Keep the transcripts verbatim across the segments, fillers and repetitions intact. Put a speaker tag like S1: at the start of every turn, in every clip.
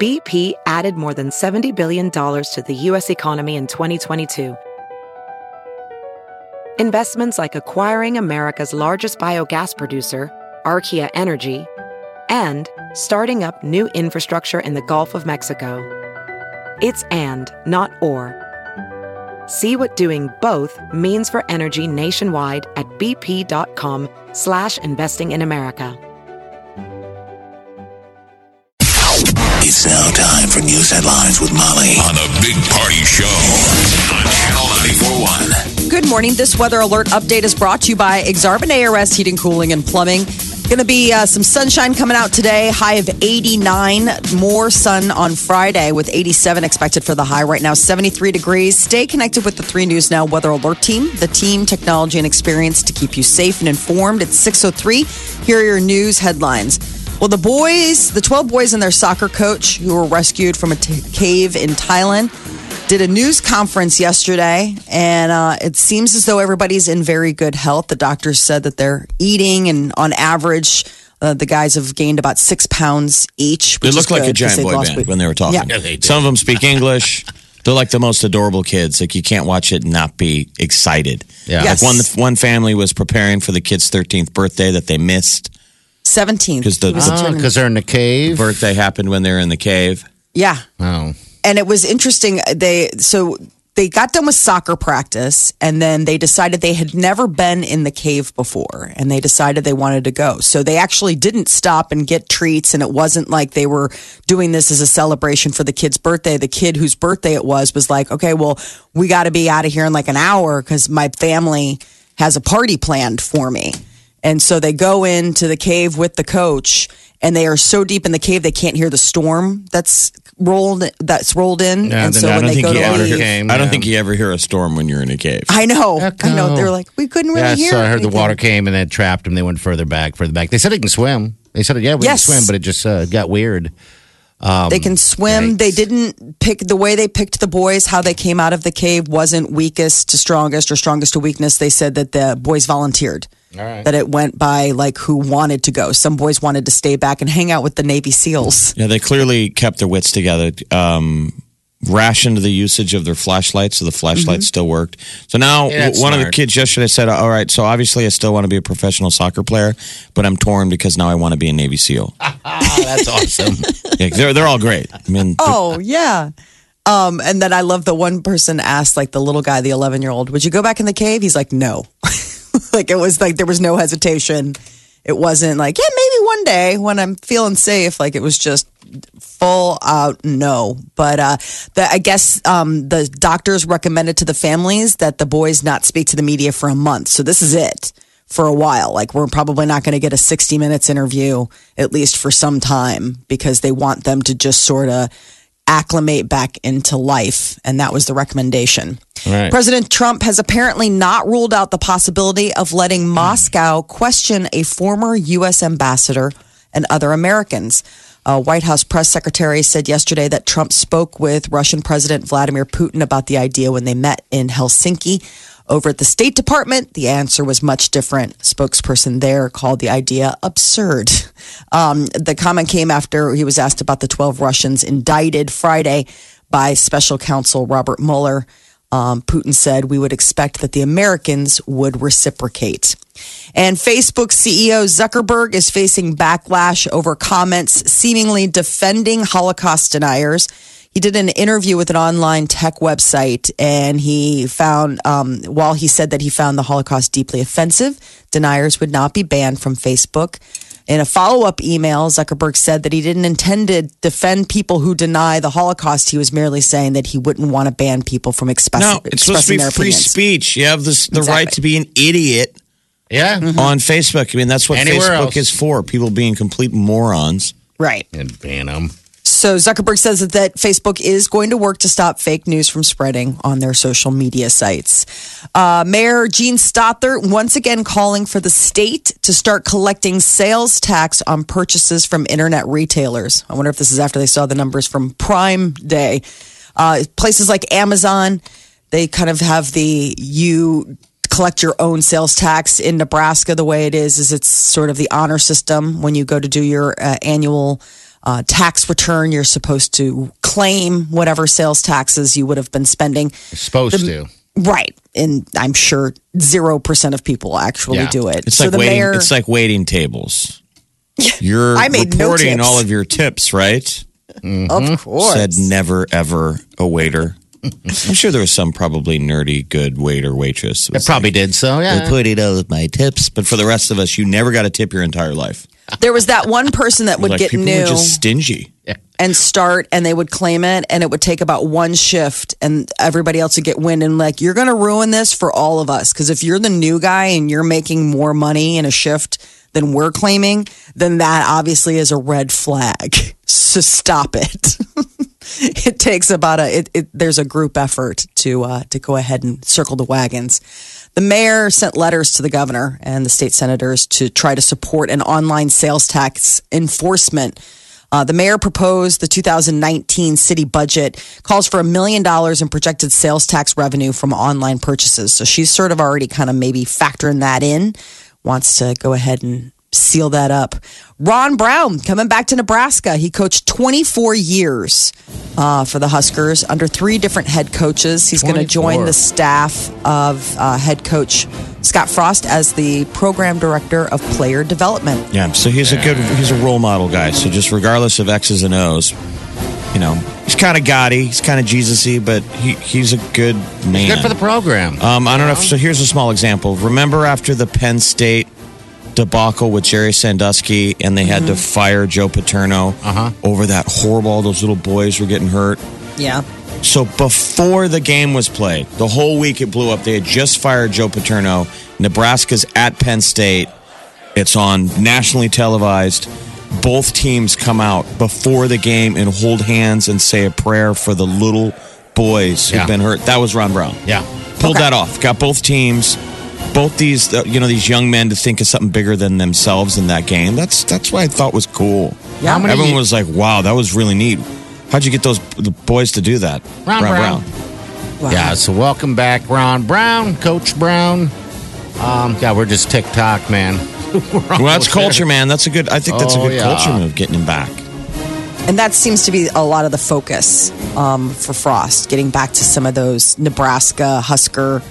S1: B P added more than seventy billion dollars to the U S economy in twenty twenty-two. Investments like acquiring America's largest biogas producer, Archaea Energy, and starting up new infrastructure in the Gulf of Mexico. It's and, not or. See what doing both means for energy nationwide at bp.com slash investing in America.
S2: It's now time for news headlines with Molly on a Big Party Show on Channel ninety-four point one.
S3: Good morning. This weather alert update is brought to you by Exarban A R S Heating, Cooling, and Plumbing. Going to be uh, some sunshine coming out today. High of eighty-nine. More sun on Friday with eighty-seven expected for the high. Right now, seventy-three degrees. Stay connected with the three News Now Weather Alert team. The team, technology, and experience to keep you safe and informed. It's six oh three. Here are your news headlines. Well, the boys, the twelve boys and their soccer coach who were rescued from a t- cave in Thailand did a news conference yesterday, and uh, it seems as though everybody's in very good health. The doctors said that they're eating, and on average, uh, the guys have gained about six pounds each.
S4: They look like a giant boy band when they were talking.
S3: Yeah.
S4: Yeah, they Some of them speak English. They're like the most adorable kids. Like you can't watch it and not be excited.
S5: Yeah.
S3: Yes.
S4: Like one one family was preparing for the kid's thirteenth birthday that they missed.
S3: seventeenth.
S4: Because the,
S5: Oh, because they're in the cave.
S4: birthday happened when they were in the cave.
S3: Yeah.
S5: Oh.
S3: And it was interesting. They so they got done with soccer practice, and then they decided they had never been in the cave before, and they decided they wanted to go. So they actually didn't stop and get treats, and it wasn't like they were doing this as a celebration for the kid's birthday. The kid whose birthday it was was like, okay, well, we got to be out of here in like an hour because my family has a party planned for me. And so they go into the cave with the coach, and they are so deep in the cave they can't hear the storm that's rolled that's rolled in.
S5: Yeah,
S3: and
S5: then
S3: so
S5: I
S3: when
S5: don't
S3: they
S5: think
S3: go
S5: you
S3: to
S5: ever
S3: leave,
S5: came.
S4: I don't
S5: yeah.
S4: think you ever hear a storm when you're in a cave.
S3: I know,
S5: Heck
S3: I know.
S5: no.
S3: They're like, we couldn't really
S5: Yeah,
S3: hear.
S5: so I heard
S3: anything.
S5: the water came and then trapped them. They went further back, further back. They said they can swim. They said, yeah, we
S3: Yes.
S5: can swim, but it just uh, got weird. Um,
S3: They can swim.
S5: yikes.
S3: They didn't pick the way they picked the boys. How they came out of the cave wasn't weakest to strongest or strongest to weakness. They said that the boys volunteered.
S5: All right.
S3: That it went by like who wanted to go. Some boys wanted to stay back and hang out with the Navy SEALs.
S4: Yeah, they clearly kept their wits together. Um, rationed the usage of their flashlights, so the flashlights still worked. So now,
S5: Yeah, that's
S4: one of the
S5: smart.
S4: kids yesterday said, "All right, so obviously I still want to be a professional soccer player, but I'm torn because now I want to be a Navy SEAL."
S5: Ah, that's awesome.
S4: Yeah, they're they're all great. I mean,
S3: Oh, yeah. Um, and then I love the one person asked, like the little guy, the eleven year old, would you go back in the cave? He's like, no. Like it was like there was no hesitation. It wasn't like, yeah, maybe one day when I'm feeling safe. Like it was just full out no. But uh, the, I guess um, the doctors recommended to the families that the boys not speak to the media for a month. So this is it for a while. Like we're probably not going to get a sixty minutes interview, at least for some time, because they want them to just sort of acclimate back into life. And that was the recommendation.
S5: Right.
S3: President Trump has apparently not ruled out the possibility of letting Moscow question a former U S ambassador and other Americans. A White House press secretary said yesterday that Trump spoke with Russian President Vladimir Putin about the idea when they met in Helsinki. Over at the State Department, the answer was much different. A spokesperson there called the idea absurd. Um, the comment came after he was asked about the twelve Russians indicted Friday by special counsel Robert Mueller. Um, Putin said we would expect that the Americans would reciprocate. And Facebook C E O Zuckerberg is facing backlash over comments seemingly defending Holocaust deniers. He did an interview with an online tech website, and he found, um, while he said that he found the Holocaust deeply offensive, deniers would not be banned from Facebook. In a follow-up email, Zuckerberg said that he didn't intend to defend people who deny the Holocaust. He was merely saying that he wouldn't want to ban people from express-
S4: no, it's supposed to
S3: expressing
S4: be
S3: their
S4: free
S3: opinions.
S4: speech. You have this, the
S3: Exactly.
S4: right to be an idiot
S5: Yeah.
S4: on Facebook. I mean, that's what
S5: Anywhere
S4: Facebook
S5: else.
S4: is for. People being complete morons.
S3: Right.
S5: And ban them.
S3: So Zuckerberg says that, that Facebook is going to work to stop fake news from spreading on their social media sites. Uh, Mayor Gene Stothert once again calling for the state to start collecting sales tax on purchases from internet retailers. I wonder if this is after they saw the numbers from Prime Day. Uh, places like Amazon, they kind of have the you collect your own sales tax. In Nebraska, the way it is, is it's sort of the honor system when you go to do your uh, annual uh, tax return. You're supposed to claim whatever sales taxes you would have been spending.
S5: You're supposed
S3: The-
S5: to.
S3: Right. And I'm sure zero percent of people actually
S5: Yeah.
S3: do it.
S4: It's
S3: so
S4: like
S3: the
S4: waiting.
S3: mayor,
S4: It's like waiting tables. You're
S3: I made no
S4: reporting
S3: tips.
S4: all of your tips, right?
S3: of course.
S4: Said never ever a waiter. I'm sure there was some probably nerdy good waiter waitress.
S5: It probably did so,
S4: I
S5: yeah.
S4: put it all of my tips, but for the rest of us, you never got a tip your entire life.
S3: There was that one person that would
S4: Like
S3: get
S4: people
S3: new
S4: were just stingy.
S3: and start, and they would claim it, and it would take about one shift, and everybody else would get wind and like, you're going to ruin this for all of us. Because if you're the new guy and you're making more money in a shift than we're claiming, then that obviously is a red flag. So stop it. It takes about a it, it there's a group effort to uh, to go ahead and circle the wagons. The mayor sent letters to the governor and the state senators to try to support an online sales tax enforcement. Uh, the mayor proposed the two thousand nineteen city budget calls for a million dollars in projected sales tax revenue from online purchases. So she's sort of already kind of maybe factoring that in, wants to go ahead and seal that up. Ron Brown coming back to Nebraska. He coached twenty-four years uh, for the Huskers under three different head coaches. He's going to join
S5: twenty-four.
S3: the staff of uh, head coach Scott Frost as the program director of player development.
S4: Yeah, so he's a good, he's a role model guy. So just regardless of X's and O's, you know, he's kind of gaudy, he's kind of Jesus-y, but he, he's a good man.
S5: Good for the program.
S4: Um, I don't know if, so here's a small example. Remember after the Penn State debacle with Jerry Sandusky and they had to fire Joe Paterno
S5: Uh-huh.
S4: over that horrible, all those little boys were getting hurt.
S3: Yeah.
S4: So before the game was played, the whole week it blew up. They had just fired Joe Paterno. Nebraska's at Penn State. It's on nationally televised. Both teams come out before the game and hold hands and say a prayer for the little boys who've
S5: Yeah.
S4: been hurt. That was Ron Brown.
S5: Yeah.
S4: Pulled
S3: Okay.
S4: that off. Got both teams, both these, uh, you know, these young men to think of something bigger than themselves in that game. That's that's what I thought was cool.
S3: Yeah. How many
S4: Everyone
S5: ye-
S4: was like, "Wow, that was really neat." How'd you get those the boys to do that?
S5: Ron Brown.
S3: Wow.
S5: Yeah, so welcome back, Ron Brown, Coach Brown. Um, yeah, we're just TikTok, man. We're
S4: Well, that's
S5: almost
S4: culture,
S5: there.
S4: man. That's a good. I think that's
S5: Oh,
S4: a good
S5: yeah.
S4: culture move, getting him back.
S3: And that seems to be a lot of the focus um, for Frost, getting back to some of those Nebraska Husker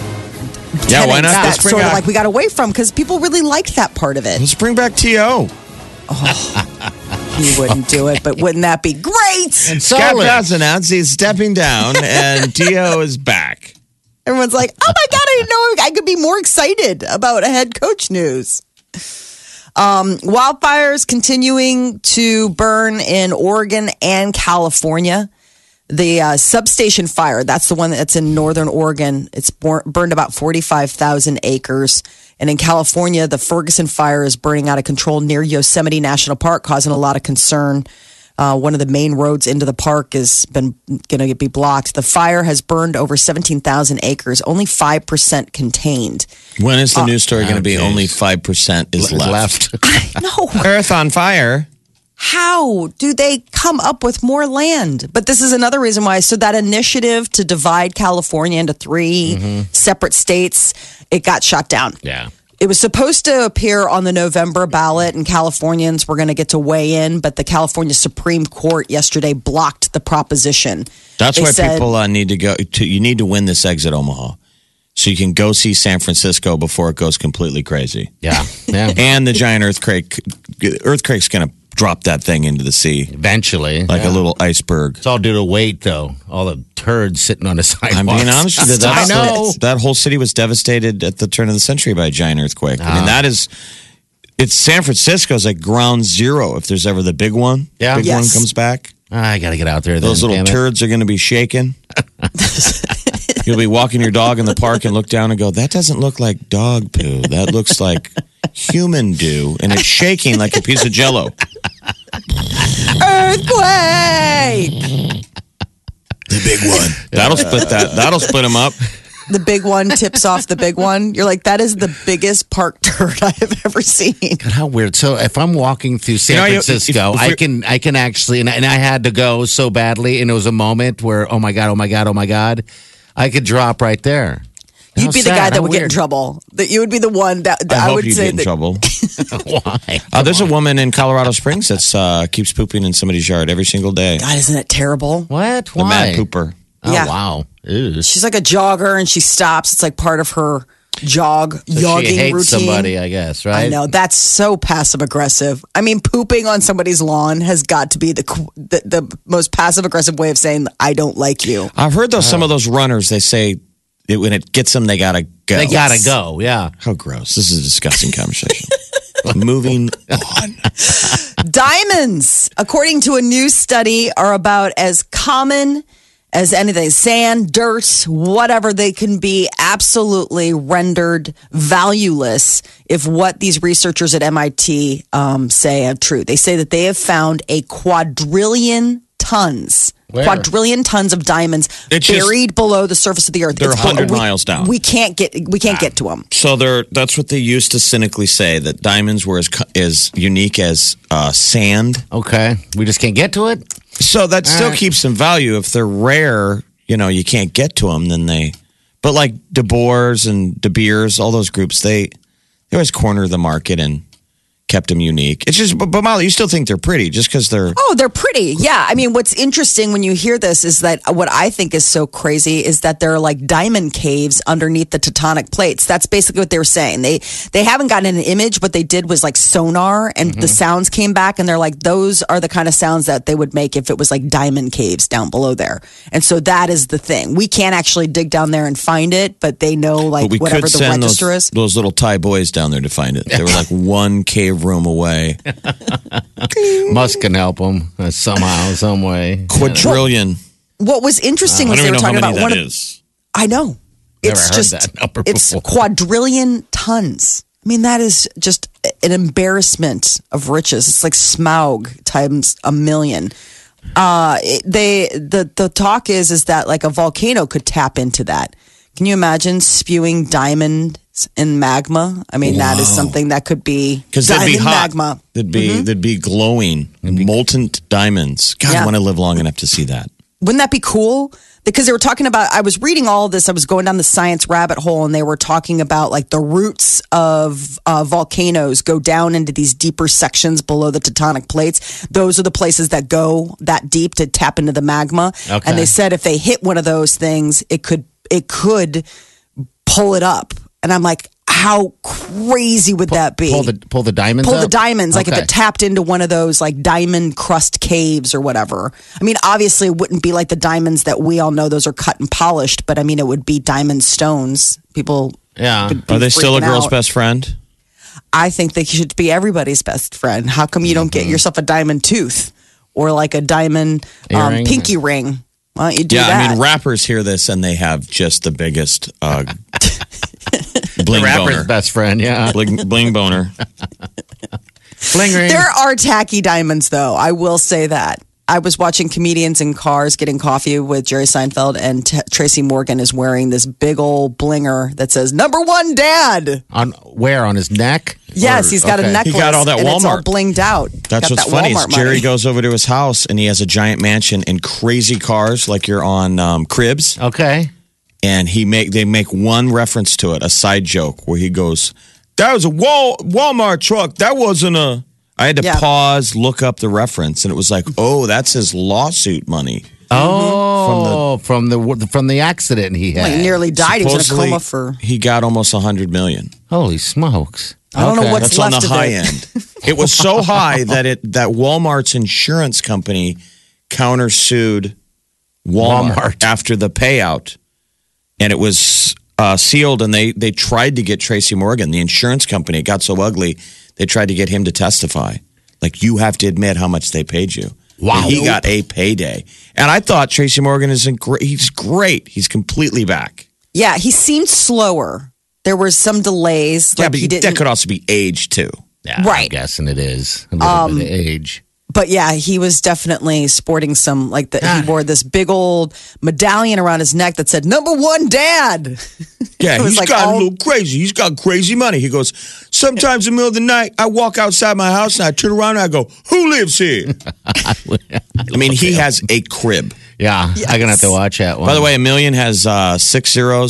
S4: Yeah, why
S3: tenets
S4: not?
S3: that
S4: Let's bring
S3: sort of
S4: back-
S3: like we got away from because people really liked that part of it.
S4: Let's bring back T O
S3: He wouldn't do it, but wouldn't that be great?
S5: And
S4: Scott
S5: Solich.
S4: Frost announced he's stepping down, and T O is back.
S3: Everyone's like, oh my God, I didn't know I could be more excited about a head coach news. Um, wildfires continuing to burn in Oregon and California. The uh, substation fire, that's the one that's in northern Oregon. It's bor- burned about forty-five thousand acres. And in California, the Ferguson fire is burning out of control near Yosemite National Park, causing a lot of concern. Uh, one of the main roads into the park has been going to be blocked. The fire has burned over seventeen thousand acres, only five percent contained.
S4: When is the news story going to be?
S5: geez.
S4: Only five percent is
S5: Is
S4: left.
S5: left.
S3: No,
S4: Earth on fire.
S3: how do they come up with more land? But this is another reason why. So that initiative to divide California into three separate states, it got shot down.
S5: Yeah.
S3: It was supposed to appear on the November ballot, and Californians were going to get to weigh in, but the California Supreme Court yesterday blocked the proposition.
S4: That's
S3: They
S4: why
S3: said-
S4: people uh, need to go. To, you need to win this exit Omaha, so you can go see San Francisco before it goes completely crazy.
S5: Yeah. Yeah.
S4: And the giant earthquake. Earthquake's going to drop that thing into the sea
S5: Eventually.
S4: like
S5: yeah.
S4: a little iceberg.
S5: It's all due to weight, though. All the turds sitting on the sidewalks.
S4: I'm being honest with you.
S5: I
S4: That's,
S5: know.
S4: that whole city was devastated at the turn of the century by a giant earthquake. I mean,
S5: Ah.
S4: that is. It's San Francisco's like ground zero if there's ever the big one.
S5: Yeah.
S4: Big
S3: Yes.
S4: one comes back.
S5: I got to get out there.
S4: Those
S5: then,
S4: little
S5: damn it.
S4: turds are going to be shaking. You'll be walking your dog in the park and look down and go, that doesn't look like dog poo. That looks like human dew. And it's shaking like a piece of jello.
S3: Earthquake!
S4: The big one. That'll split that. That'll split them up.
S3: The big one tips off the big one. You're like, that is the biggest park turd I have ever seen.
S5: God, how weird. So if I'm walking through San
S4: You know, you-
S5: Francisco,
S4: if- if
S5: I
S4: we're-
S5: can I can actually and, and I had to go so badly, and it was a moment where oh my god, oh my god, oh my god, I could drop right there.
S3: You'd be the
S5: sad.
S3: guy that
S5: How
S3: would get in
S5: weird.
S3: trouble. That you would be the one that, that
S4: I,
S3: I,
S4: hope
S3: would
S4: you
S3: say
S4: get in
S3: that.
S4: trouble.
S5: Why?
S4: Uh, there's a woman in Colorado Springs that's uh, keeps pooping in somebody's yard every single day.
S3: God, isn't it terrible?
S5: What?
S4: The
S5: Why?
S4: mad pooper.
S5: Oh,
S3: Yeah.
S5: wow. Ew.
S3: She's like a jogger, and she stops. It's like part of her jog
S5: So
S3: jogging
S5: she hates
S3: routine.
S5: somebody, I guess, right?
S3: I know that's so passive aggressive. I mean, pooping on somebody's lawn has got to be the qu- the, the most passive aggressive way of saying I don't like you.
S4: I've heard those some of those runners. They say it, when it gets them, they gotta go.
S5: They gotta go, yeah.
S4: How gross! This is a disgusting conversation. Moving on.
S3: Diamonds, according to a new study, are about as common as anything. Sand, dirt, whatever, they can be absolutely rendered valueless if what these researchers at M I T um, say are true. They say that they have found a quadrillion tons.
S5: Where?
S3: Quadrillion tons of diamonds
S4: It's just-
S3: buried below the surface of the earth.
S4: They're
S3: It's-
S4: one hundred
S3: we-
S4: miles down.
S3: We can't get we can't get to them.
S4: So they're that's what they used to cynically say that diamonds were as co- as unique as uh, sand.
S5: Okay. We just can't get to it?
S4: So that still
S5: right.
S4: keeps some value. If they're rare, you know, you can't get to them. Then they, but like De Boers and De Beers, all those groups, they they always corner the market and kept them unique. It's just, but, but Molly, you still think they're pretty just because they're.
S3: Oh, they're pretty. Yeah. I mean, what's interesting when you hear this is that what I think is so crazy is that there are like diamond caves underneath the tectonic plates. That's basically what they were saying. They they haven't gotten an image. What they did was like sonar, and the sounds came back, and they're like, those are the kind of sounds that they would make if it was like diamond caves down below there. And so that is the thing. We can't actually dig down there and find it, but they know like
S4: But we
S3: whatever
S4: could
S3: the
S4: send
S3: register
S4: those,
S3: is.
S4: those little Thai boys down there to find it. They were like one cave room away.
S5: Musk can help them uh, somehow, some way.
S4: Quadrillion.
S3: What was interesting
S4: I
S3: was
S4: don't
S3: they
S4: even
S3: were
S4: know how
S3: talking
S4: many
S3: about
S4: that
S3: one of
S4: is.
S3: I know.
S5: Never
S3: It's
S5: heard
S3: just
S5: that number
S3: it's
S5: before.
S3: quadrillion tons. I mean, that is just an embarrassment of riches. It's like Smaug times a million. Uh, it- they the the talk is is that like a volcano could tap into that. Can you imagine spewing diamonds in magma? I mean, that is something that could be
S4: Because they'd
S3: diamond
S4: be hot.
S3: magma.
S4: They'd be they'd be glowing, molten diamonds. God,
S3: Yeah.
S4: I want to live long enough to see that.
S3: Wouldn't that be cool? Because they were talking about, I was reading all of this. I was going down the science rabbit hole, and they were talking about like the roots of uh, volcanoes go down into these deeper sections below the tectonic plates. Those are the places that go that deep to tap into the magma.
S5: Okay.
S3: And they said if they hit one of those things, it could it could pull it up. And I'm like, how crazy would that be?
S5: Pull the pull the diamonds
S3: Pull the
S5: up?
S3: diamonds, like if
S5: Okay.
S3: it tapped into one of those like diamond crust caves or whatever. I mean, obviously, it wouldn't be like the diamonds that we all know; those are cut and polished. But I mean, it would be diamond stones. People,
S5: Yeah.
S3: would be
S4: Are they still a
S3: freaking
S4: girl's
S3: out.
S4: best friend?
S3: I think they should be everybody's best friend. How come you don't
S4: Mm-hmm.
S3: get yourself a diamond tooth or like a diamond um,
S5: Earring?
S3: pinky ring? Why don't you do
S4: Yeah,
S3: that?
S4: I mean, rappers hear this and they have just the biggest uh,
S5: The
S4: bling
S5: rapper's
S4: boner.
S5: best friend, yeah.
S4: Bling, bling boner.
S5: Bling ring.
S3: There are tacky diamonds, though. I will say that. I was watching comedians in cars getting coffee with Jerry Seinfeld, and T- Tracy Morgan is wearing this big old blinger that says "Number One Dad."
S5: On where? On his neck?
S3: Yes,
S5: Or-
S3: he's got
S5: okay.
S3: a necklace.
S4: He got all that
S3: and it's all
S4: Walmart.
S3: blinged out.
S4: That's
S3: Got
S4: what's
S3: that
S4: funny. Is
S3: Walmart
S4: Jerry
S3: money.
S4: goes over to his house and he has a giant mansion and crazy cars like you're on um, Cribs.
S5: Okay.
S4: And he make they make one reference to it, a side joke where he goes, "That was a Wal- Walmart truck. That wasn't a." I had to
S3: Yeah.
S4: pause, look up the reference, and it was like, "Oh, that's his lawsuit money."
S5: Oh, from the, from the from the accident he had.
S3: Well, he nearly died. He was in a
S4: Supposedly,
S3: coma for.
S4: He got almost a hundred million.
S5: Holy smokes!
S3: I don't know
S5: Okay.
S3: what's
S4: That's on the
S3: left of
S4: high
S3: it.
S4: end. It was so high that it that Walmart's insurance company countersued Walmart,
S5: Walmart.
S4: after the payout, and it was uh, sealed. And they they tried to get Tracy Morgan, the insurance company. It got so ugly, they tried to get him to testify. Like, you have to admit how much they paid you.
S5: Wow.
S4: And he got a payday. And I thought Tracy Morgan is great. He's great. He's completely back.
S3: Yeah, he seemed slower. There were some delays.
S4: Yeah,
S3: Like
S4: but
S3: he didn't.
S4: that could also be age too.
S5: Yeah, I'm
S3: Right.
S5: guessing it is a little bit of age.
S3: But yeah, he was definitely sporting some like the, he wore this big old medallion around his neck that said "Number One Dad."
S4: Yeah,
S3: It was
S4: he's
S3: like
S4: got
S3: all-
S4: a little crazy. He's got crazy money. He goes, sometimes in the middle of the night, I walk outside my house and I turn around and I go, who lives here? I mean, he has a crib.
S5: Yeah, I'm gonna have to watch that one.
S4: By the way, a million has uh, six zeros.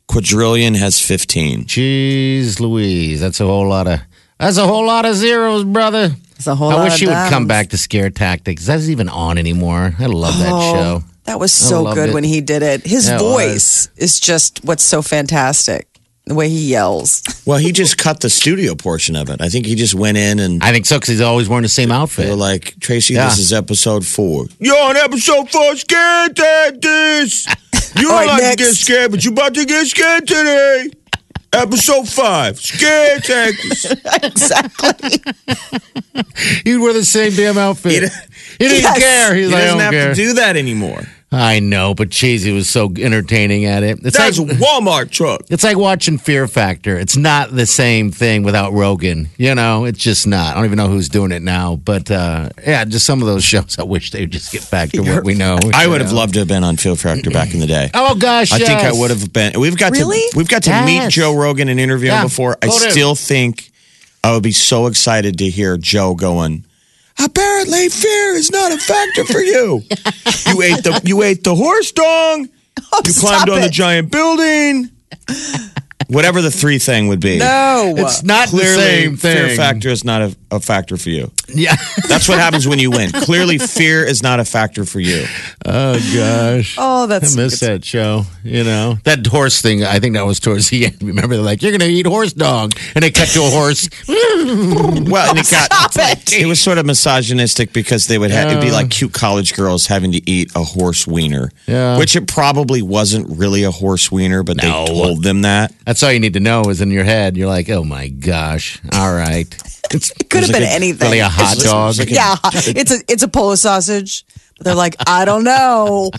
S4: Quadrillion has fifteen.
S5: Jeez Louise. That's a whole lot of that's a whole lot of zeros, brother.
S3: It's a whole
S5: I
S3: lot
S5: wish
S3: of
S5: he would
S3: dimes.
S5: come back to Scare Tactics. That's even on anymore. I love that
S3: Oh,
S5: show.
S3: That was
S5: I
S3: so
S5: loved
S3: good
S5: it.
S3: when he did it. His
S5: Yeah, it
S3: voice is just what's so fantastic. The way he yells.
S4: Well, he just cut the studio portion of it. I think he just went in and
S5: I think so because he's always wearing the same
S4: they
S5: outfit.
S4: were like, Tracy,
S5: Yeah.
S4: this is episode four. You're on episode four, scared at this. You don't
S3: All right,
S4: like
S3: next.
S4: to get scared, but you about to get scared today. Episode five, scared tactics.
S3: Exactly.
S5: He'd wear the same damn outfit.
S4: He-
S5: He didn't
S3: Yes.
S5: care. He's
S4: He
S5: like, I
S4: doesn't
S5: don't
S4: have
S5: care.
S4: to do that anymore.
S5: I know, but geez, he was so entertaining at it. It's
S4: That's a
S5: like
S4: Walmart truck.
S5: it's like watching Fear Factor. It's not the same thing without Rogan. You know, it's just not. I don't even know who's doing it now, but uh, yeah, just some of those shows. I wish they'd just get back to what we know.
S4: I
S5: you
S4: would have
S5: know?
S4: loved to have been on Fear Factor back in the day.
S5: Oh gosh,
S4: I think I
S5: yes.
S4: would have been. We've got
S3: Really?
S4: to we've got to meet
S5: Yes.
S4: Joe Rogan and interview him
S5: Yeah.
S4: before. I
S5: Go to him.
S4: still think I would be so excited to hear Joe going. Apparently, fear is not a factor for you. You ate the you ate the horse dong.
S3: Oh,
S4: You
S3: stop
S4: climbed on
S3: it.
S4: the giant building. Whatever the three thing would be.
S3: No.
S5: It's not
S4: Clearly,
S5: the same thing.
S4: fear factor is not a, a factor for you.
S5: Yeah.
S4: That's what happens when you win. Clearly, fear is not a factor for you.
S5: Oh gosh.
S3: Oh, that's
S5: I miss that show. You know that horse thing. I think that was towards the end. Remember, they're like, "You're going to eat horse dog," and they cut to a horse.
S4: Well, and it got
S3: Stop it.
S4: it was sort of misogynistic because they would have it'd be like cute college girls having to eat a horse wiener,
S5: Yeah.
S4: which it probably wasn't really a horse wiener, but
S5: No.
S4: they told them that.
S5: That's all you need to know is in your head. You're like, "Oh my gosh! All right." It's
S3: It could have been anything.
S5: really a hot
S3: It's-
S5: dog.
S3: Yeah, it's a it's a polo sausage. But they're like, I don't know.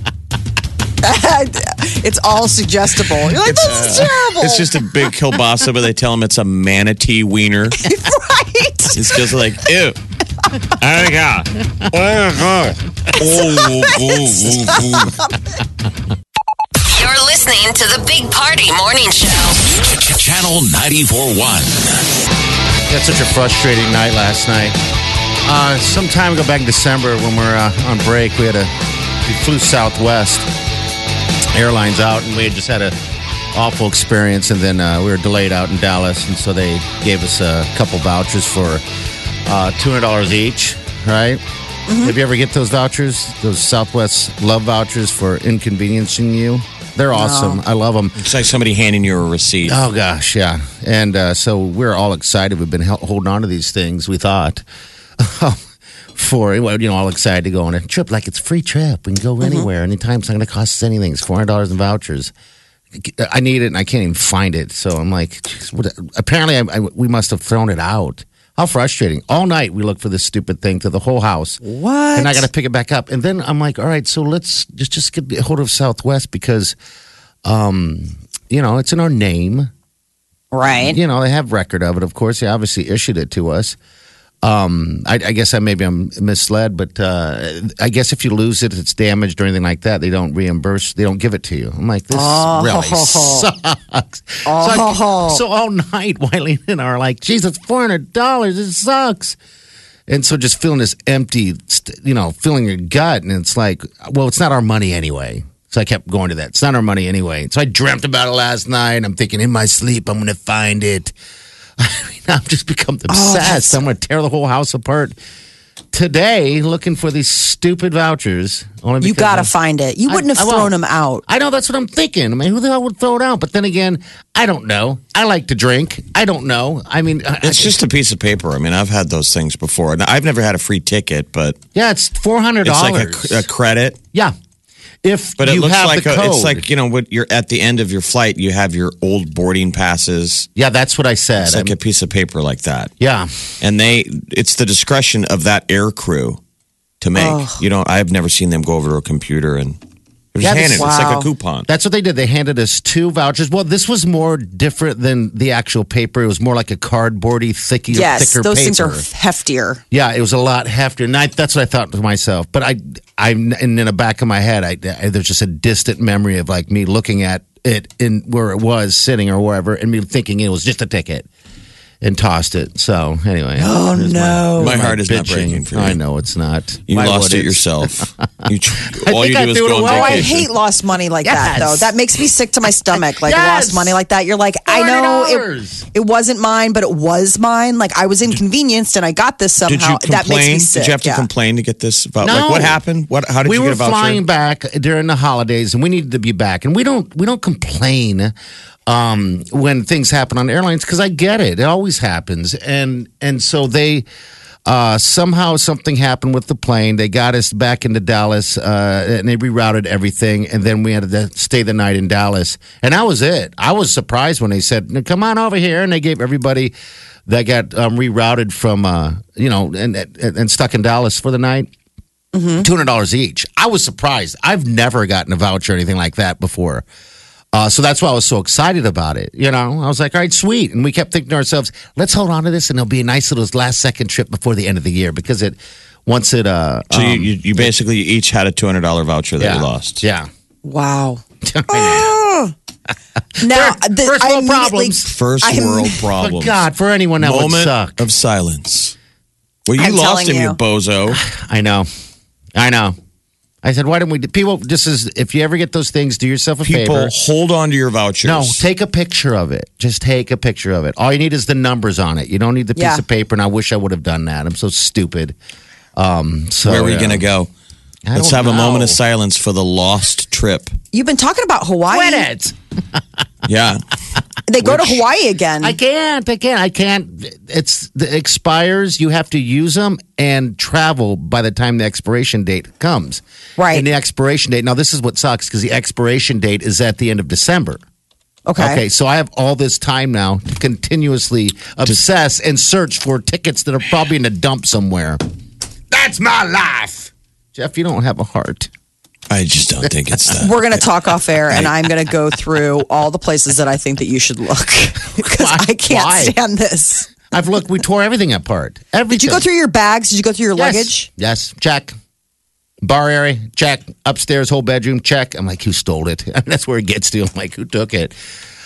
S3: It's all suggestible. You're like, this is terrible.
S4: It's just a big kielbasa, but they tell them it's a manatee wiener.
S3: right.
S4: It's just like ew. Oh God.
S6: You're listening to the Big Party Morning Show.
S2: Channel ninety-four point one.
S5: Had such a frustrating night last night. Uh, some time ago, back in December, when we were uh, on break, we had a we flew Southwest Airlines out, and we had just had a awful experience. And then uh, we were delayed out in Dallas, and so they gave us a couple vouchers for uh, two hundred dollars each. Right? Have you ever get those vouchers? Those Southwest Love vouchers for inconveniencing you? They're awesome. I love them.
S4: It's like somebody handing you a receipt.
S5: Oh gosh, yeah. And uh, so we're all excited. We've been hel- holding on to these things. We thought for well, you know, all excited to go on a trip like it's a free trip. We can go anywhere, anytime. It's not going to cost us anything. It's four hundred dollars in vouchers. I need it, and I can't even find it. So I'm like, geez, what, apparently, I, I, we must have thrown it out. How frustrating! All night we looked for this stupid thing to the whole house.
S3: What?
S5: And I got to pick it back up. And then I'm like, all right, so let's just just get a hold of Southwest because, um, you know, it's in our name.
S3: Right.
S5: You know, they have record of it. Of course, they obviously issued it to us. Um, I, I guess I maybe I'm misled, but uh, I guess if you lose it, it's damaged or anything like that, they don't reimburse. They don't give it to you. I'm like, this
S3: Oh.
S5: really sucks. So, I-
S3: Oh.
S5: so all night, Wiley and I are like, geez, it's four hundred dollars. It sucks. And so just feeling this empty, st- you know, feeling your gut. And it's like, well, it's not our money anyway. So I kept going to that. It's not our money anyway. So I dreamt about it last night. I'm thinking in my sleep, I'm going to find it. I mean, I've just become obsessed. I'm going to tear the whole house apart today looking for these stupid vouchers. Only
S3: You
S5: because
S3: got to
S5: of-
S3: find it. You
S5: I-
S3: wouldn't
S5: I
S3: have
S5: won't.
S3: thrown them out.
S5: I know that's what I'm thinking. I mean, who the hell would throw it out? But then again, I don't know. I like to drink. I don't know. I mean, I-
S4: It's just a piece of paper. I mean, I've had those things before. And I've never had a free ticket, but
S5: yeah, it's four hundred
S4: it's
S5: dollars.
S4: like a, a credit.
S5: Yeah. If
S4: But it
S5: you
S4: looks
S5: have
S4: like
S5: the
S4: a,
S5: code.
S4: it's like, you know, what you're at the end of your flight, you have your old boarding passes.
S5: yeah, that's what I said.
S4: It's like
S5: I'm-
S4: a piece of paper like that.
S5: yeah.
S4: And they it's the discretion of that air crew to make. You know, I've never seen them go over to a computer and they're just
S5: Yeah, this-
S4: handing it. It's like
S3: wow.
S4: a coupon.
S5: That's what they did. They handed us two vouchers. Well, this was more different than the actual paper. It was more like a cardboardy, thicky,
S3: Yes,
S5: thicker
S3: those
S5: paper.
S3: things are heftier.
S5: Yeah, it was a lot heftier. And I, that's what I thought to myself. But I, I'm and in the back of my head, I, I, there's just a distant memory of like me looking at it in where it was sitting or wherever, and me thinking it was just a ticket, and tossed it. So anyway,
S3: Oh,
S5: there's
S3: no.
S4: My heart is not
S5: bitching.
S4: breaking for you.
S5: I know it's not.
S4: You
S5: Why
S4: lost
S5: would
S4: it yourself. You, all you
S5: I
S4: do is
S5: threw it
S4: go on
S5: away.
S3: Oh, I
S4: vacation.
S3: hate lost money like that,
S5: Yes.
S3: though. That makes me sick to my stomach. Like
S5: Yes.
S3: lost money like that. You're like, I know
S5: forty
S3: it,
S5: dollars.
S3: it wasn't mine, but it was mine. Like I was inconvenienced and I got this somehow.
S4: Did you complain?
S3: That makes me sick.
S4: Did you have to
S3: yeah.
S4: complain to get this? About,
S5: No.
S4: Like what happened? What? How did
S5: we
S4: you
S5: were
S4: get a voucher?
S5: flying back during the holidays, and we needed to be back. And we don't we don't complain um, when things happen on airlines because I get it; it always happens. And and so they uh, somehow something happened with the plane. They got us back into Dallas, uh, and they rerouted everything. And then we had to stay the night in Dallas, and that was it. I was surprised when they said, "Come on over here," and they gave everybody that got um, rerouted from uh, you know and, and and stuck in Dallas for the night. two hundred dollars each. I was surprised. I've never gotten a voucher or anything like that before. Uh, so that's why I was so excited about it. You know, I was like, all right, sweet. And we kept thinking to ourselves, let's hold on to this and it'll be a nice little last second trip before the end of the year because it, once it, uh,
S4: So you,
S5: um,
S4: you, you basically each had a two hundred dollar voucher that
S5: yeah,
S4: you lost.
S5: Yeah.
S3: Wow.
S5: I
S3: Now,
S5: First-
S3: the,
S5: first
S3: I
S5: world
S3: immediately-
S5: problems.
S4: First
S3: I'm-
S4: world
S5: know.
S4: problems.
S5: But God, for anyone that would
S4: Moment
S5: suck.
S4: of silence. Well, you
S3: I'm
S4: lost
S3: telling
S4: him, you.
S3: you.
S4: bozo.
S5: I know. I know. I said, why didn't we? People, just as if you ever get those things, do yourself a
S4: People,
S5: favor.
S4: hold on to your vouchers.
S5: No, take a picture of it. Just take a picture of it. All you need is the numbers on it. You don't need the piece
S3: Yeah.
S5: of paper. And I wish I would have done that. I'm so stupid. Um, so
S4: Where are we
S5: yeah.
S4: going to go?
S5: I
S4: Let's
S5: don't
S4: have a moment
S5: know.
S4: of silence for the lost trip.
S3: You've been talking about Hawaii.
S5: Quit it.
S4: Yeah.
S3: They go to Hawaii again.
S5: I can't. I can't. I can't. It's it expires. You have to use them and travel by the time the expiration date comes.
S3: Right.
S5: And the expiration date. Now, this is what sucks because the expiration date is at the end of December.
S3: okay.
S5: Okay, so I have all this time now to continuously obsess and search for tickets that are probably in a dump somewhere. That's my life. Jeff, you don't have a heart.
S4: I just don't think it's that.
S3: We're going to talk off air, and I'm going to go through all the places that I think that you should look because
S5: Why?
S3: I can't
S5: Why?
S3: stand this.
S5: I've looked, we tore everything apart. Everything.
S3: Did you go through your bags? Did you go through your
S5: yes.
S3: luggage?
S5: Yes, check. Bar area, check. Upstairs, whole bedroom, check. I'm like, who stole it? I mean, that's where it gets to. I'm like, who took it?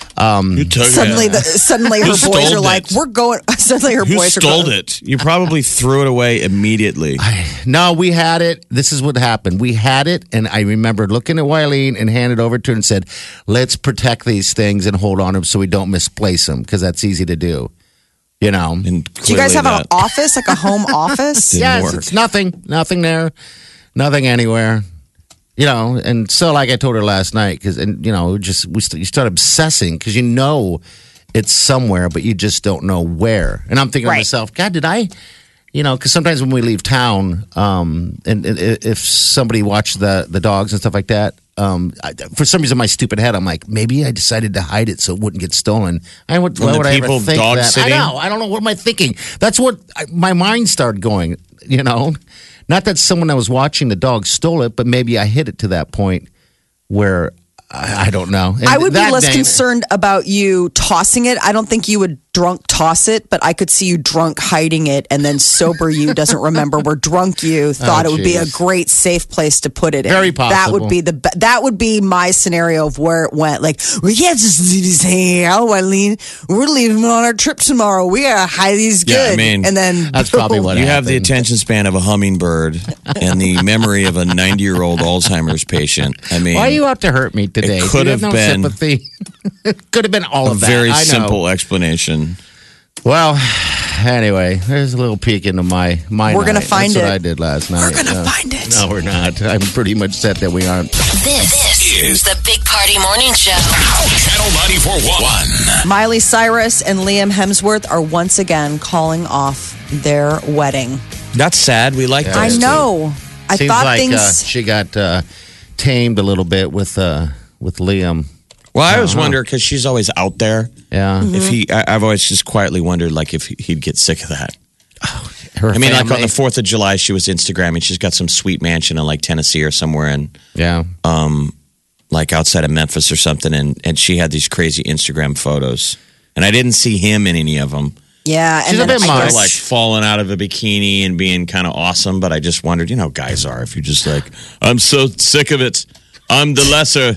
S4: You took
S3: Suddenly,
S4: it.
S3: the, suddenly her
S4: Who
S3: boys
S4: stole
S3: are like,
S4: it?
S3: "We're going." Suddenly, her
S4: Who
S3: boys are
S4: stole
S3: going,
S4: it? You probably threw it away immediately.
S5: No, we had it. This is what happened. We had it, and I remember looking at Wileen and handed it over to her and said, let's protect these things and hold on to them so we don't misplace them because that's easy to do. You know?
S4: And
S3: Do you guys have
S4: clearly
S3: an
S4: that
S3: office, like a home office?
S4: didn't
S5: Yes,
S4: work.
S5: it's nothing. Nothing there. Nothing anywhere. You know, and so like I told her last night, because, and you know, just we st- you start obsessing because you know it's somewhere, but you just don't know where. And I'm thinking to
S3: Right.
S5: myself, God, did I, you know, because sometimes when we leave town, um, and, and if somebody watched the the dogs and stuff like that, um, I, for some reason, in my stupid head, I'm like, maybe I decided to hide it so it wouldn't get stolen. I would,
S4: When
S5: why
S4: the
S5: would I ever
S4: people
S5: think
S4: dog
S5: that?
S4: sitting?
S5: I know. I don't know. What am I thinking? That's what I, my mind started going. You know, not that someone that was watching the dog stole it, but maybe I hit it to that point where I, I don't know. And
S3: I would be
S5: that
S3: less
S5: day-
S3: concerned about you tossing it. I don't think you would drunk toss it, but I could see you drunk hiding it, and then sober you doesn't remember where drunk you thought
S5: Oh,
S3: it would be a
S5: geez.
S3: great safe place to put it in.
S5: Very
S3: That
S5: possible.
S3: would be the be- that would be my scenario of where it went. Like we can't just leave these hanging out, Wileen. We're leaving on our trip tomorrow. We gotta hide these good.
S4: Yeah, I mean,
S3: and then
S5: that's probably what
S4: You have the
S5: happened.
S4: attention span of a hummingbird and the memory of a ninety year old Alzheimer's patient. I mean,
S5: Why are you out to hurt me today?
S4: It could
S5: You
S4: have
S5: no
S4: been-
S5: sympathy. It could have been all
S4: a
S5: of that.
S4: very
S5: I know.
S4: simple explanation.
S5: Well, anyway, there's a little peek into my my.
S3: We're gonna
S5: night.
S3: find
S5: That's
S3: it.
S5: what I did last night.
S3: We're gonna
S5: Yeah.
S3: find it.
S5: No, we're not. I'm pretty much set that we aren't.
S6: This, this is the Big Party Morning Show.
S2: Channel ninety-four point one.
S3: Miley Cyrus and Liam Hemsworth are once again calling off their wedding.
S4: That's sad. We like
S5: Yeah.
S3: I
S4: those two.
S3: know. I
S5: Seems
S3: thought
S5: like
S3: things.
S5: uh, she got uh, tamed a little bit with uh, with Liam.
S4: Well, I always wonder because she's always out there.
S5: Yeah,
S3: Mm-hmm.
S4: If he, I, I've always just quietly wondered, like, if he'd get sick of that.
S5: her
S4: I mean, like on
S5: family.
S4: the Fourth of July, she was Instagramming. She's got some sweet mansion in like Tennessee or somewhere, in
S5: yeah.
S4: like outside of Memphis or something, and and she had these crazy Instagram photos, and I didn't see him in any of them.
S3: yeah,
S5: She's
S3: and
S5: a
S3: then
S5: bit
S3: I
S5: much.
S3: guess-
S4: Like falling out of a bikini and being kind of awesome, but I just wondered, you know, how guys are. If you're just like, I'm so sick of it, I'm the lesser.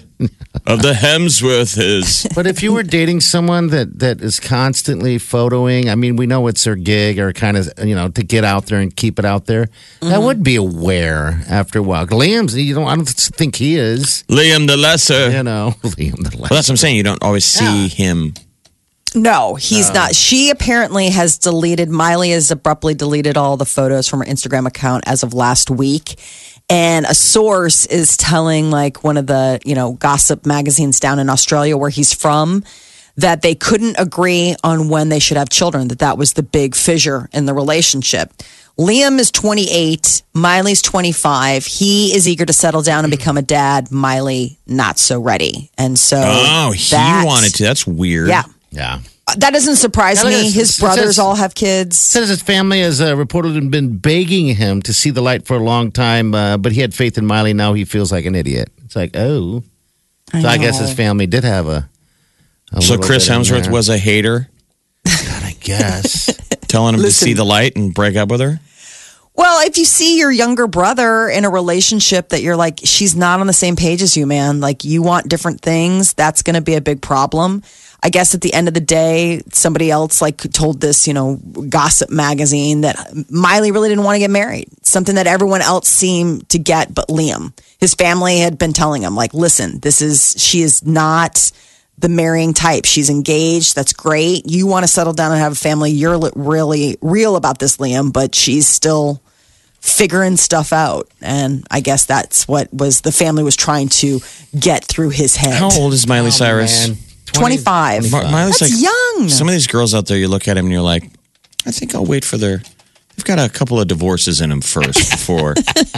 S4: of the Hemsworths.
S5: But if you were dating someone that, that is constantly photoing, I mean, we know it's their gig or kind of, you know, to get out there and keep it out there. Mm-hmm. That would be a wear after a while. Liam's, you know, I don't think he is.
S4: Liam the Lesser.
S5: You know, Liam the Lesser.
S4: Well, that's what I'm saying. You don't always see yeah. him.
S3: No, he's no. not. She apparently has deleted, Miley has abruptly deleted all the photos from her Instagram account as of last week. And a source is telling like one of the, you know, gossip magazines down in Australia where he's from that they couldn't agree on when they should have children, that that was the big fissure in the relationship. Liam is twenty-eight, Miley's twenty-five. He is eager to settle down and become a dad. Miley, not so ready. And so.
S4: Oh, he that, wanted to. That's weird.
S3: Yeah.
S5: Yeah.
S3: That doesn't surprise me. His brothers all have kids.
S5: Says his family has uh, reportedly been begging him to see the light for a long time, uh, but he had faith in Miley. Now he feels like an idiot. It's like, oh. I so I guess his family did have a. a
S4: so Chris Hemsworth was a hater?
S5: God, I guess.
S4: Telling him
S3: Listen,
S4: to see the light and break up with her?
S3: Well, if you see your younger brother in a relationship that you're like, she's not on the same page as you, man, like you want different things, that's going to be a big problem. I guess at the end of the day, somebody else like told this, you know, gossip magazine that Miley really didn't want to get married. Something that everyone else seemed to get but Liam. His family had been telling him, like, listen, this is, she is not the marrying type. She's engaged. That's great. You want to settle down and have a family. You're really real about this, Liam, but she's still figuring stuff out. And I guess that's what was the family was trying to get through his head.
S4: How old is Miley
S5: oh,
S4: Cyrus?
S5: Man.
S3: twenty-five.
S4: Ma- Miley's
S3: That's
S4: like,
S3: young.
S4: Some of these girls out there, you look at them and you're like, I think I'll wait for their. They've got a couple of divorces in them first before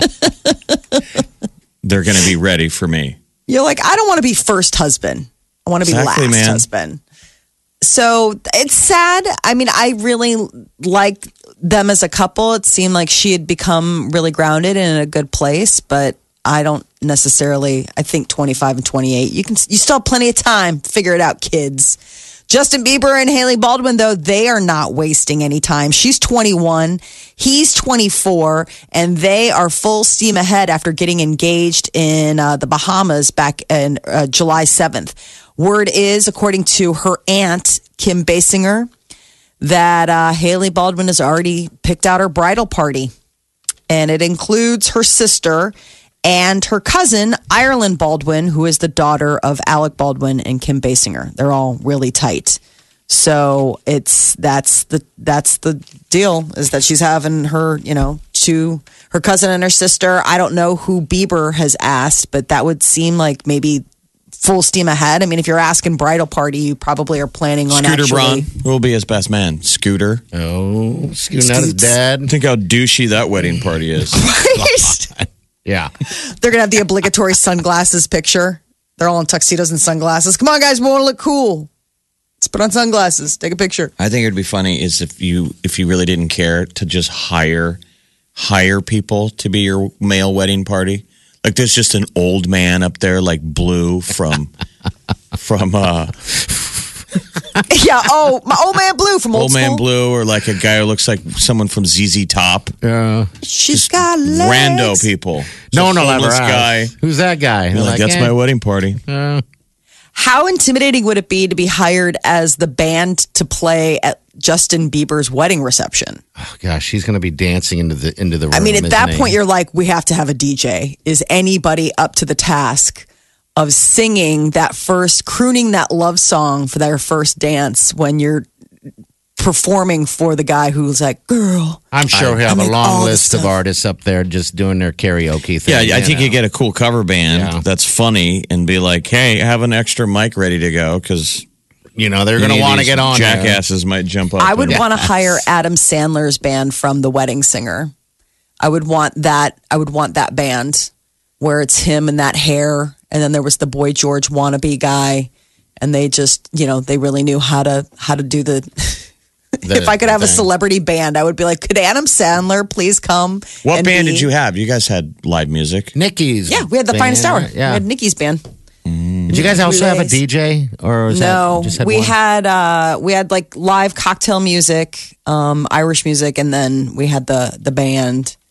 S4: they're going to be ready for me.
S3: You're like, I don't want to be first husband. I want to
S4: Exactly,
S3: be last
S4: man.
S3: husband. So it's sad. I mean, I really like them as a couple. It seemed like she had become really grounded and in a good place, but I don't necessarily, I think twenty-five and twenty-eight, you can, you still have plenty of time. Figure it out, kids. Justin Bieber and Hailey Baldwin, though, they are not wasting any time. She's twenty-one, he's twenty-four, and they are full steam ahead after getting engaged in uh, the Bahamas back in uh, July seventh. Word is, according to her aunt, Kim Basinger, that uh, Hailey Baldwin has already picked out her bridal party. And it includes her sister and her cousin, Ireland Baldwin, who is the daughter of Alec Baldwin and Kim Basinger. They're all really tight. So it's that's the that's the deal, is that she's having her, you know, two, her cousin and her sister. I don't know who Bieber has asked, but that would seem like maybe full steam ahead. I mean, if you're asking bridal party, you probably are planning on
S4: Scooter
S3: actually.
S4: Braun, who will be his best man? Scooter.
S5: Oh, Scooter, not his dad.
S4: Think how douchey that wedding party is.
S5: Yeah.
S3: They're going to have the obligatory sunglasses picture. They're all in tuxedos and sunglasses. Come on, guys, we want to look cool. Let's put on sunglasses. Take a picture.
S4: I think it'd be funny is if you if you really didn't care to just hire hire people to be your male wedding party. Like there's just an old man up there like Blue from from uh
S3: Yeah, oh, my old man Blue from Old
S4: Old Man
S3: School.
S4: Blue, or like a guy who looks like someone from Z Z Top.
S5: Yeah.
S3: She's got legs.
S4: Rando people.
S5: No one
S4: Just
S5: will ever
S4: homeless guy.
S5: ask. Who's that guy?
S4: You're
S5: They're
S4: like, that's
S5: eh,
S4: my wedding party.
S5: uh,
S3: How intimidating would it be to be hired as the band to play at Justin Bieber's wedding reception?
S5: oh, gosh, he's going to be dancing into the into the room.
S3: I mean, at
S5: isn't
S3: that
S5: he?
S3: point, you're like, we have to have a D J. Is anybody up to the task of singing that first, crooning that love song for their first dance when you're performing for the guy who's like, girl?
S5: I'm sure he'll have
S3: I
S5: a
S3: make
S5: long
S3: all the
S5: list of
S3: stuff.
S5: artists up there just doing their karaoke thing.
S4: Yeah, I think
S5: know.
S4: you get a cool cover band
S5: Yeah.
S4: that's funny and be like, hey, have an extra mic ready to go because
S5: You know, they're going to want to get on there.
S4: Jackasses might jump up.
S3: I would
S4: and-
S3: want to hire Adam Sandler's band from The Wedding Singer. I would want that. I would want that band where it's him and that hair, and then there was the Boy George wannabe guy, and they just, you know, they really knew how to how to do the.
S5: The-
S3: if I could have
S5: the
S3: a
S5: thing.
S3: celebrity band, I would be like, could Adam Sandler please come?
S4: What
S3: and
S4: band
S3: be-
S4: did you have? You guys had live music.
S5: Nikki's.
S3: Yeah, we had the
S5: band,
S3: Finest Hour.
S5: right? Yeah.
S3: We had Nikki's band.
S5: Did you guys also have a
S3: Relays.
S5: D J or was
S3: No,
S5: that just had
S3: we
S5: one?
S3: had uh, we had like live cocktail music, um, Irish music, and then we had the the band.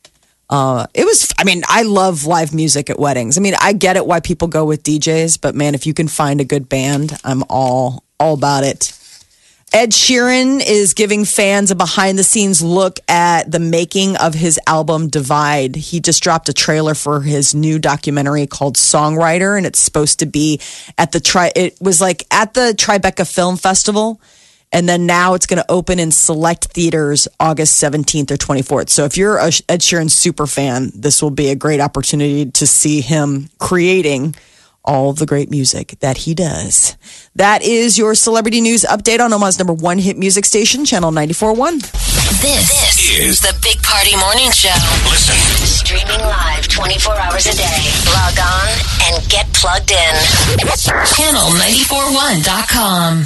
S3: Uh, it was, I mean, I love live music at weddings. I mean, I get it why people go with D Js, but man, if you can find a good band, I'm all, all about it. Ed Sheeran is giving fans a behind the scenes look at the making of his album Divide. He just dropped a trailer for his new documentary called Songwriter, and it's supposed to be at the tri, it was like at the Tribeca Film Festival. And then now it's going to open in select theaters August seventeenth or twenty-fourth. So if you're a Ed Sheeran super fan, this will be a great opportunity to see him creating all of the great music that he does. That is your celebrity news update on Omaha's number one hit music station, Channel ninety-four point one.
S6: This, this is the Big Party Morning Show.
S2: Listen.
S6: Streaming live twenty-four hours a day. Log on and get plugged in. channel nine four one dot com.